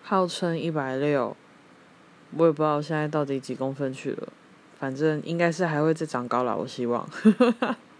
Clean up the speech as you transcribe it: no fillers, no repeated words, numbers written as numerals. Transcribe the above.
号称160，我也不知道现在到底几公分去了，反正应该是还会再长高啦，我希望。